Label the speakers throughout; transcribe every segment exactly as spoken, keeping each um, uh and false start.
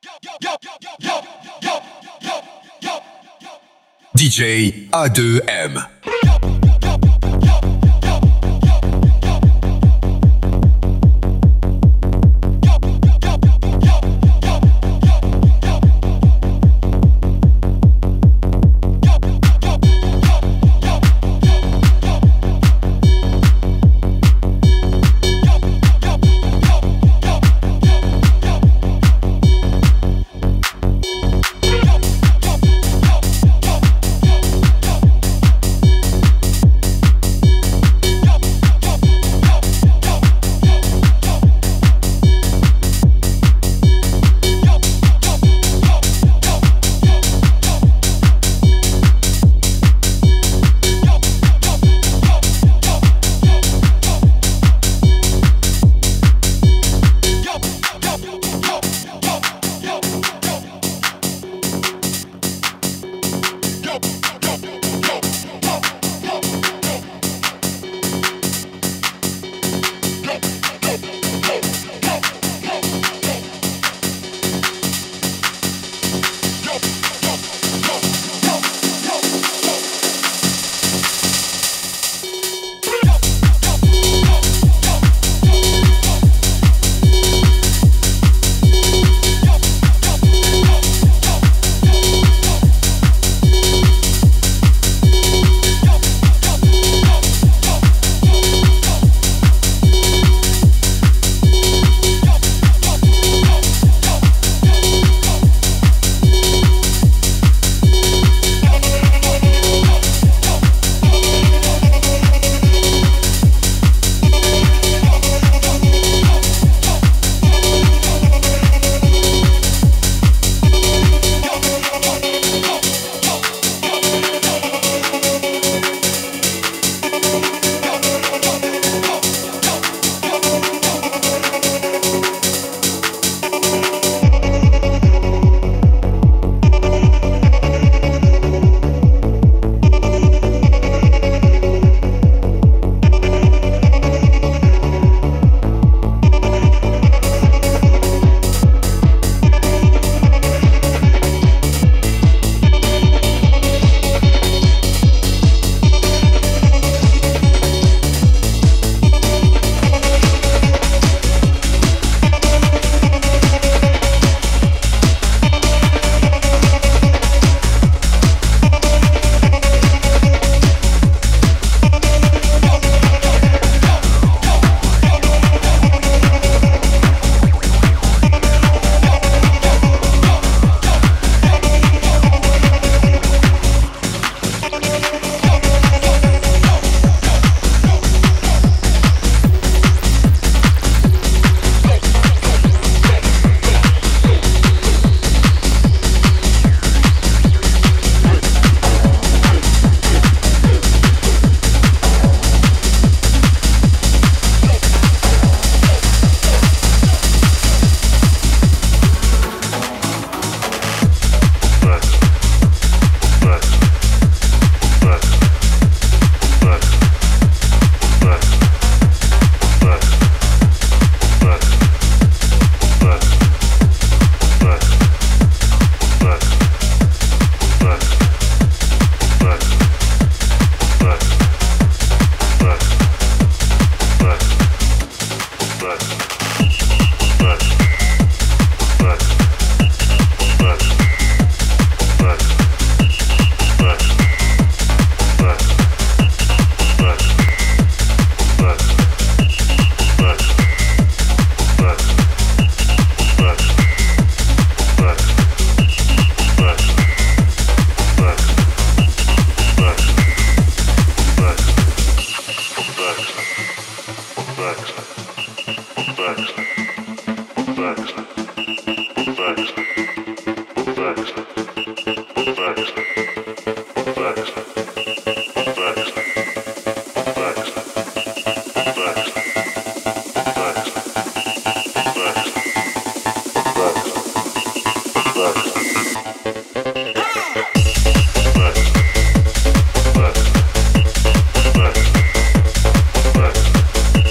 Speaker 1: D J A deux M.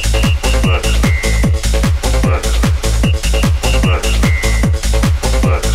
Speaker 2: But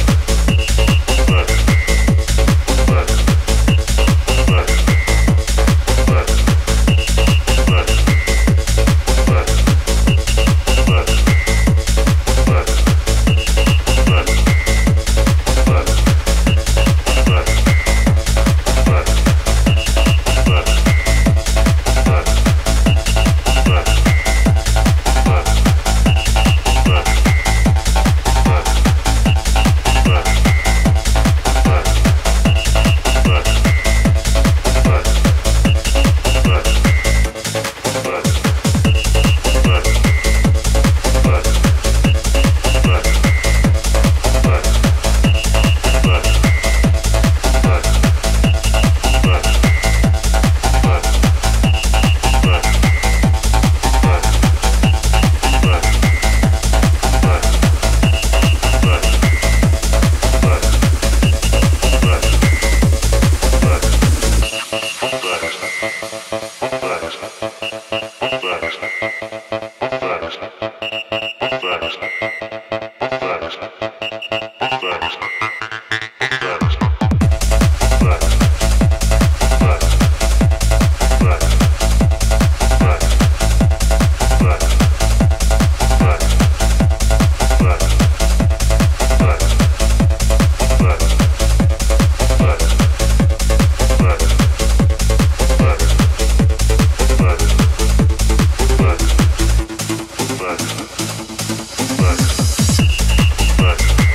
Speaker 2: Back.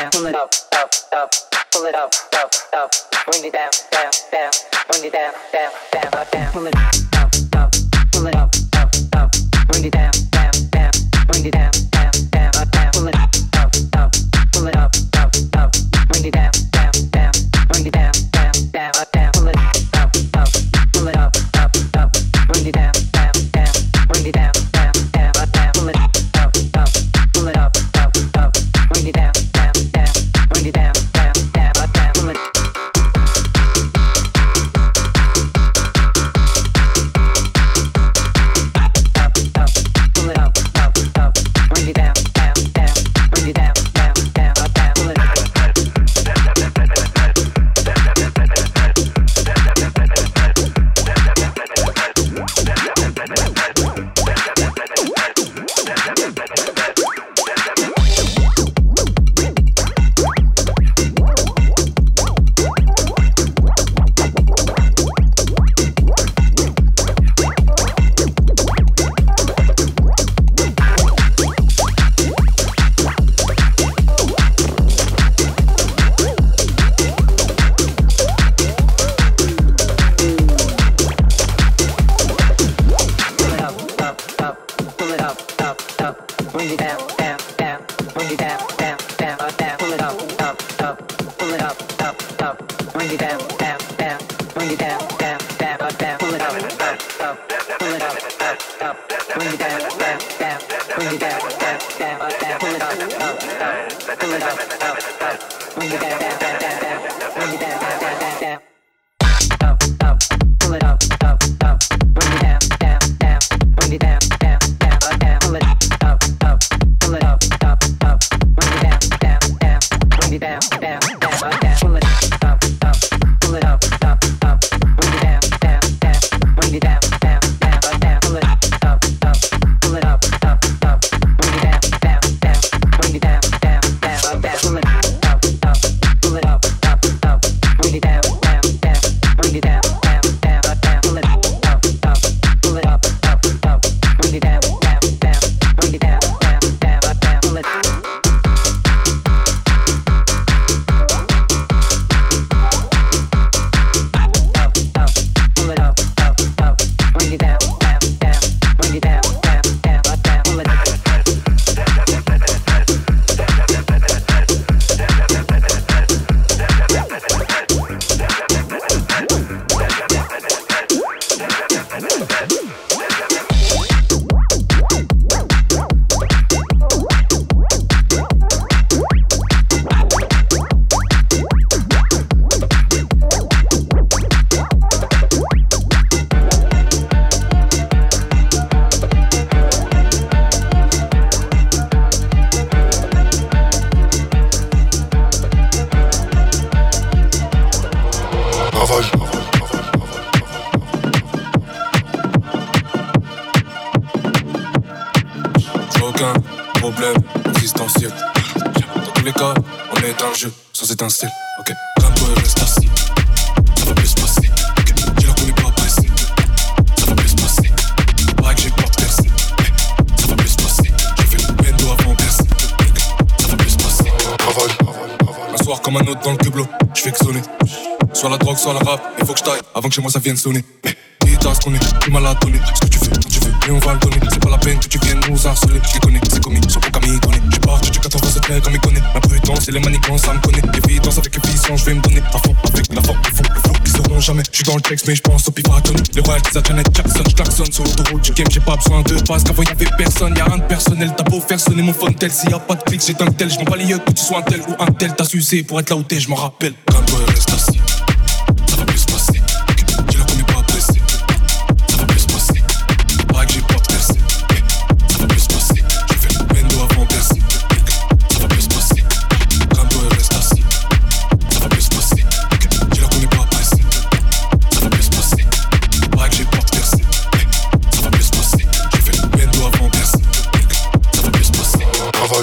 Speaker 2: down, pull it up, up, up, pull it up, up, up, bring it down, down, down, bring it down, down, down, up, down, pull it up, up, pull it up, up, up, bring it down, down, down, bring it down, down, down, up, down, pull it up, up, pull it up, up, up, bring it down, down, down, bring it down, down, down, up, down, pull it up, up, pull it up, up, up, bring it down, down, down, bring it down, down, down, up, down, pull it up, up, pull it up, up, up, bring it down, down, down, bring it down, down, down, up, down, pull it up.
Speaker 3: Comme un autre dans le cublo, je fais que sonner. Soit la drogue, soit la rap, il faut que je taille avant que chez moi ça vienne sonner. Mais dis-toi ce qu'on est, tu m'as la donné. Ce que tu fais, quand tu veux, et on va le donner. C'est pas la peine que tu viennes nous harceler. Je les connais, c'est commis, sur pour Camille donner. J'suis parti du quatre-vingt-sept mec comme il connaît. Ma prudence et les manigances, ça me connaît. L'évidence avec efficience, je vais me donner. À fond, avec la forme, le fond, le flow, ils sauront jamais. J'suis dans le texte, mais j'pense au pivot à Tony. Les royalties à Janet Jackson, j'klaxonne sur l'autoroute du game. J'ai pas besoin de passe, qu'avant y'avait personne. Y'a rien de personnel, t'as beau faire sonner mon phone tel. S'il y a pas de clic, j'ai un tel. J'm'en bats les yeux que tu sois un tel ou un tel. T'as sucé pour être là où t'es, j'm'en rappelle. Calme-toi, reste assis. Ça va plus se passer. Tu la connais pas pressé. Ça va plus se passer. Pareil que j'ai pas percé. Ça va plus se passer. J'ai fait le bendo avant percé. Ça va plus se passer. Calme-toi, reste assis. Ça va plus se passer. Tu la connais pas pressé. Ça va plus se passer. Pareil que j'ai pas percé. Ça va plus se passer. J'ai fait le bendo avant percé. Ça va plus se passer. Travail.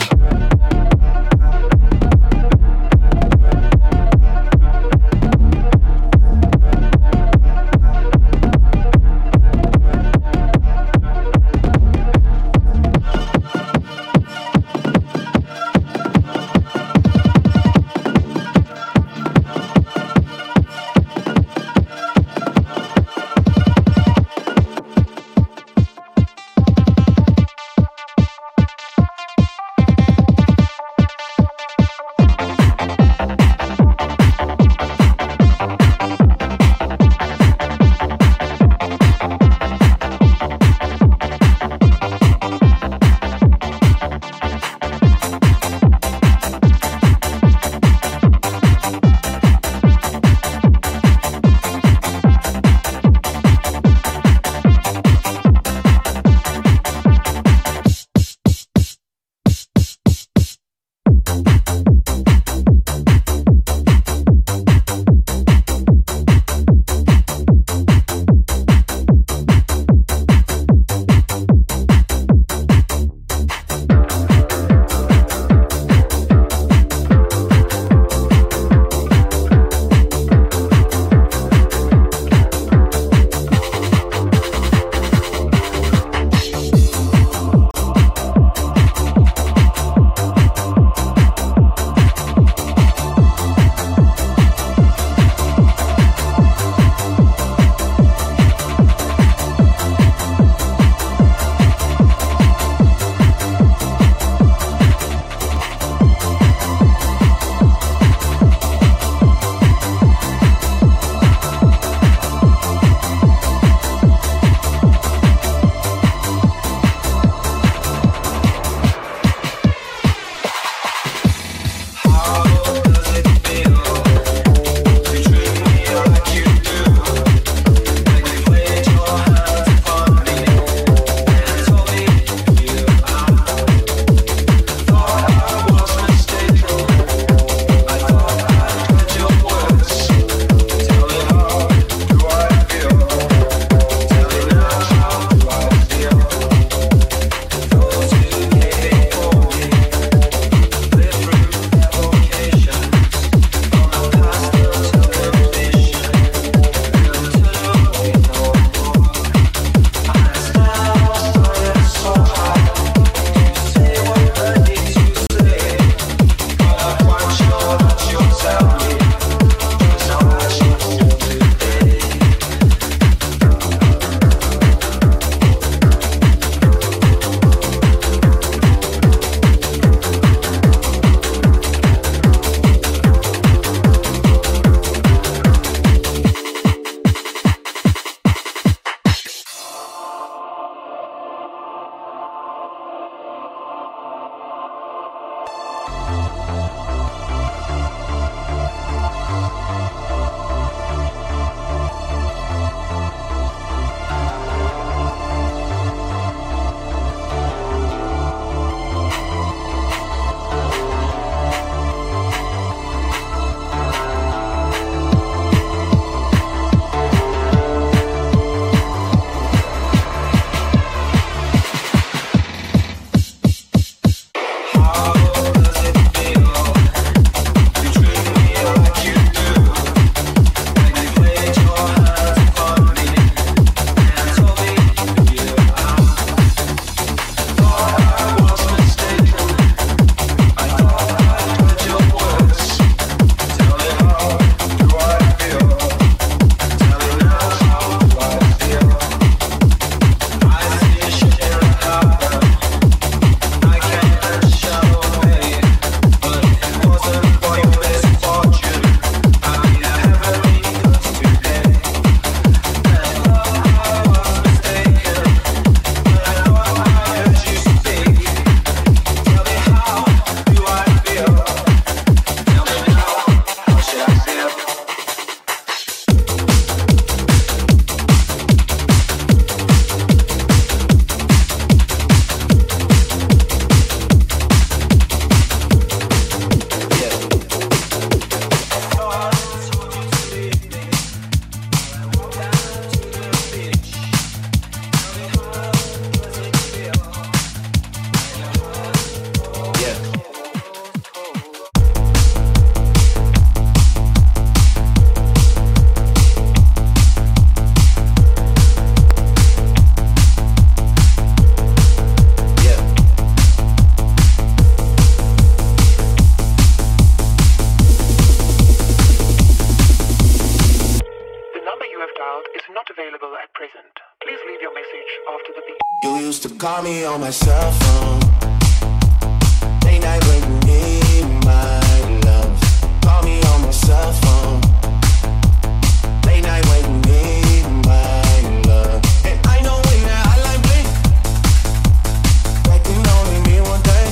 Speaker 4: You used to call me on my cell phone. Late night when you need my love. Call me on my cell phone. Late night when you need my love. And I know when that hotline blink, that can only mean one thing.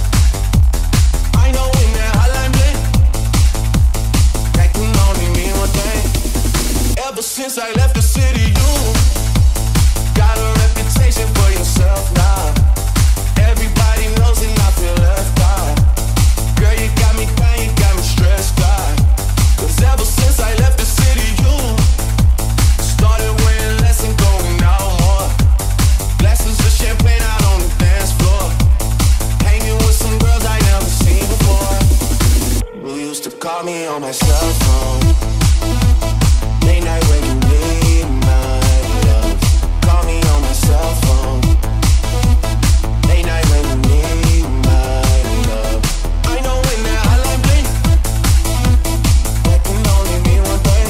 Speaker 4: I know when that hotline blink, that can only mean one thing. Ever since I left the city, you got a reputation for yourself now. Everybody knows and I feel left out. Girl, you got me crying, you got me stressed out. Cause ever since I left the city, you started wearing less and going out more. Glasses of champagne out on the dance floor. Hanging with some girls I never seen before. You used to call me on my cell phone. Late night when you need my love. Call me on my cell phone. Late night when you need my love. I know when that hotline blink, that can only mean one thing.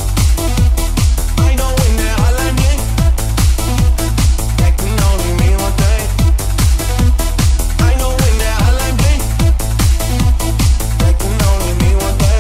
Speaker 4: I know when that hotline blink, that can only mean one thing. I know when that hotline blink, that can only mean one thing.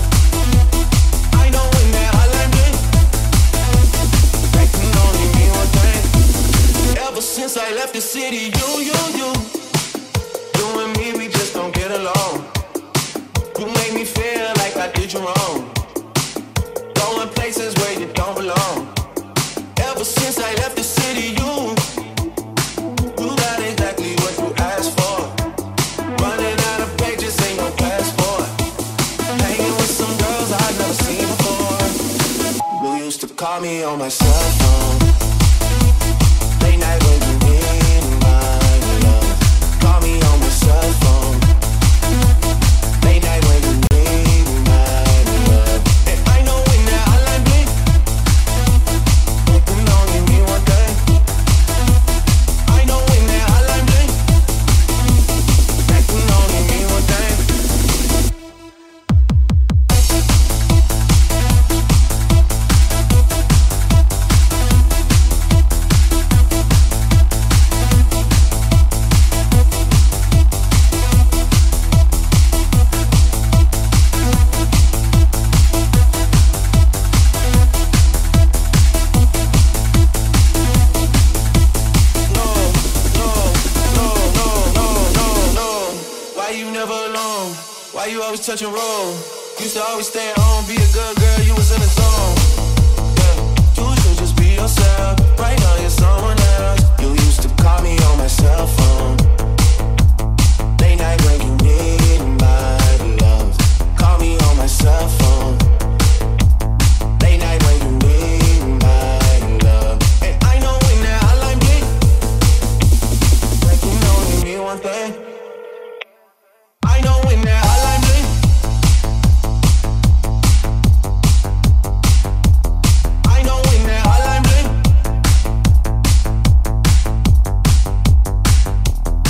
Speaker 4: I know when that hotline blink, that can only mean one thing. Ever since I left the city, you, you, you, you and me, we just don't get along. You make me feel like I did you wrong. Going places where you don't belong. Ever since I left the city, you, you got exactly what you asked for. Running out of pages, ain't no passport. Hanging with some girls I've never seen before. You used to call me on my cell phone. Late night when you need my love. Call me on my cell phone. Late night when you need my love. And I know when that hotline blink, it can only mean one thing. I know when that hotline blink, that can only mean one thing. Touch and roll. Used to always stay at home, be a good girl, you was in the zone. Yeah, you should just be yourself. Right now you're someone else. You used to call me on my cell phone. Late night when you need my love. Call me on my cell phone. Late night when you need my love. And I know when that hotline blink, that can only mean one thing. I know when that hotline blink, I know when that hotline blink,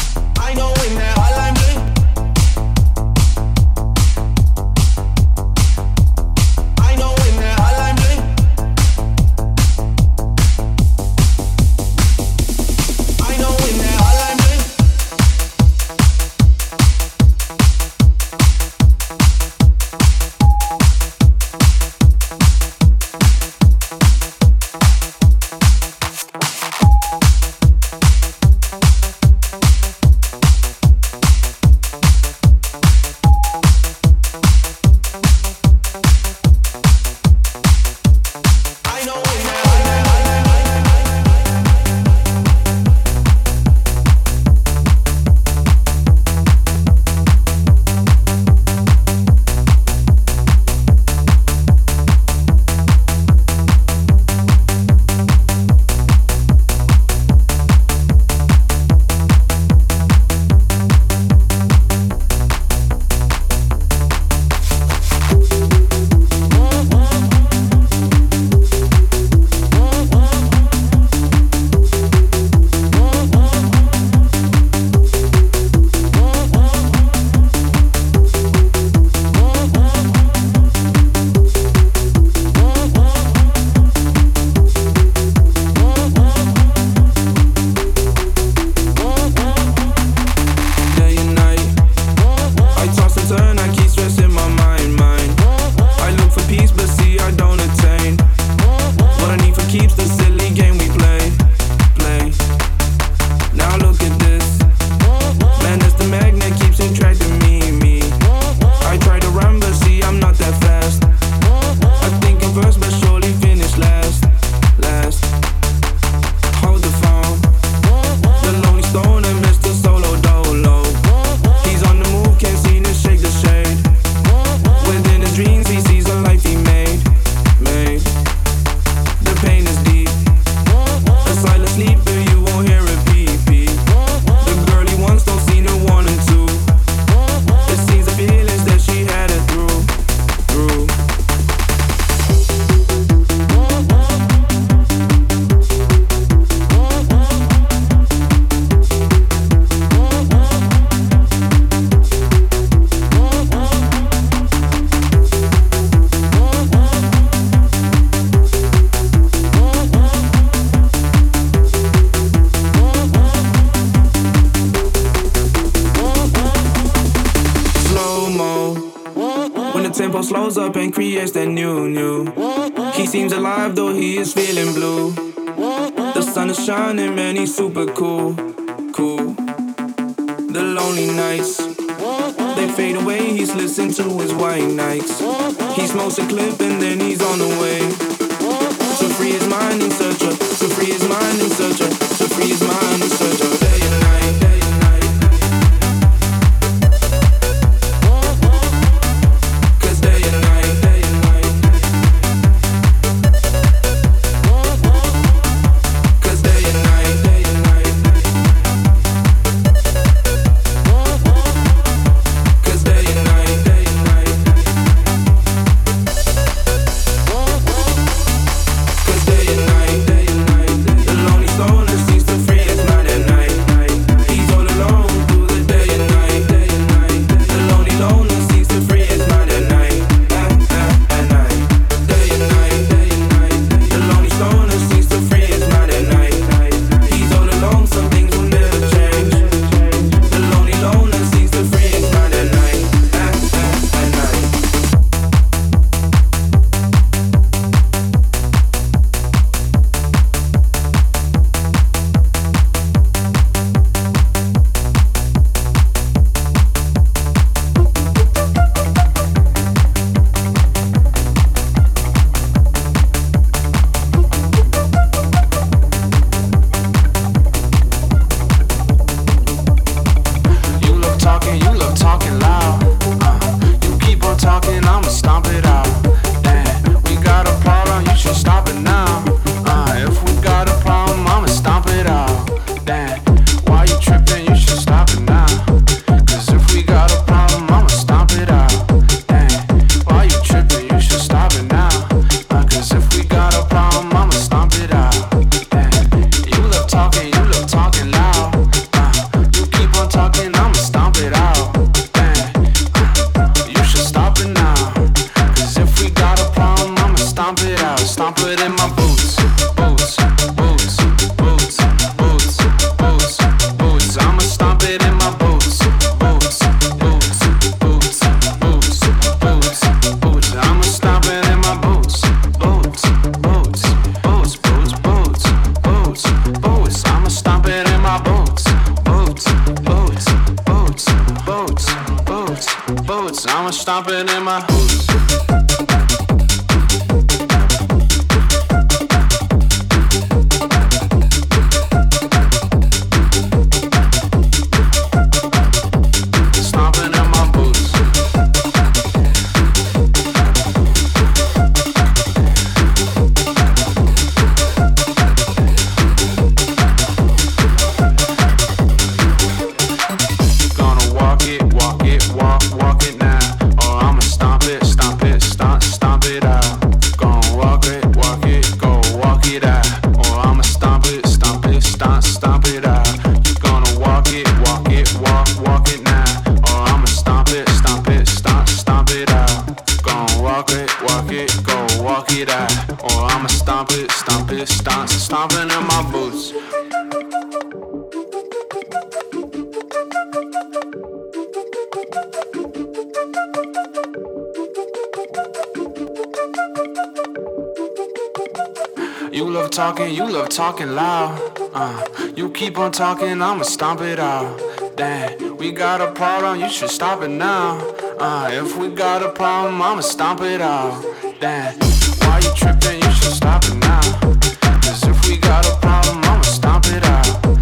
Speaker 5: the tempo slows up and creates that new, new. He seems alive though he is feeling blue. The sun is shining, man, he's super cool, cool. The lonely nights, they fade away, he's listening to his white nights. He smokes a clip and then he's on the way to free his mind in search of, to free his mind in search of, to free his mind in search of day and night, day and night. Cause day and night, day and night. Cause day and night, day and night. Cause day and night, day and night. Cause day and night, day and night. The lonely stoner seems to free his mind at night. He's all alone through the day and night, day and night. The lonely loner seems to free his mind at night, at, at, at night. Day and night, day and night. The lonely stoner seems to free his mind at night. He's all alone, some things will never change. The lonely loner seems to free his mind at night, at, at, at night.
Speaker 6: You love talking, you love talking loud. Uh, you keep on talking, I'ma stomp it out. Damn, we got a problem, you should stop it now. Uh, if we got a problem, I'ma stomp it out. Damn, why you tripping? You should stop it now. Cause if we got a problem, I'ma stomp it out. Damn, why you tripping? You should stop it now. Uh, cause if we got a problem, I'ma stomp it out. Damn, you love talking, you love talking loud. Uh, you keep on talking, I'ma stomp it out. Damn, you should stop it now. Cause if we got a problem, I'ma stomp it out. Stomp it in my boots, boots, boots, boots, boots, boots, boots. I'ma stomp it in my boots, boots, boots, boots, boots, boots, boots. I'ma stomp it in my boots, boots, boots, boots, boots, boots, boots, boots. I'ma stomp it in my boots, boots, boots, boots, boots, boots, boots. I'ma stomp it in my boots. Stomping in my boots. Gonna walk it, walk it, walk, walk it now. Or I'ma stomp it, stomp it, stomp, stomp it out. Gonna walk it, walk it, go walk it out. Or I'ma stomp it, stomp it, stomp, stomp it out. You gonna walk it, walk it, walk, walk it now. Or I'ma stomp it, stomp it, stomp, stomp it out. Gonna walk it, walk it, go walk it out. Or I'ma stomp it, stomp it, stomp, stomping in my boots. You love talking, you love talking loud. Uh, you keep on talking, I'ma stomp it out. Damn, we got a problem, you should stop it now. Uh, if we got a problem, I'ma stomp it out. Damn, why you tripping? You should stop it now. Cause if we got a problem, I'ma stomp it out.